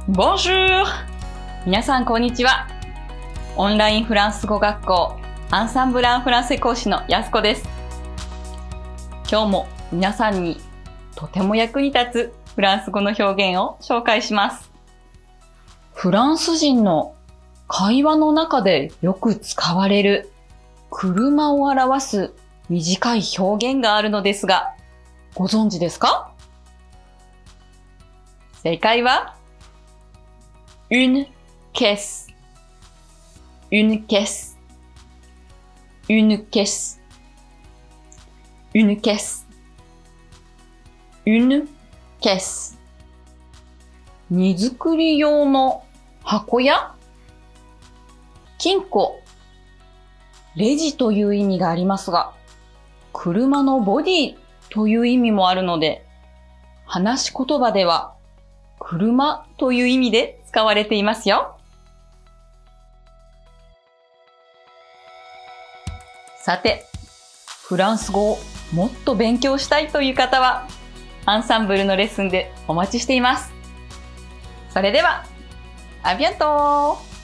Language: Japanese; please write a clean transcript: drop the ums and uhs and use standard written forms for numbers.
Bonjour! 皆さんこんにちは。オンラインフランス語学校アンサンブル・アン・フランセ講師のやすこです。今日も皆さんにとても役に立つフランス語の表現を紹介します。フランス人の会話の中でよく使われる車を表す短い表現があるのですが、ご存知ですか？正解はune caisse, une caisse, une caisse, une caisse, une caisse。荷造り用の箱や金庫、レジという意味がありますが、車のボディという意味もあるので、話し言葉では車という意味で使われていますよ。さて、フランス語をもっと勉強したいという方は、アンサンブルのレッスンでお待ちしています。それでは、アビアントー！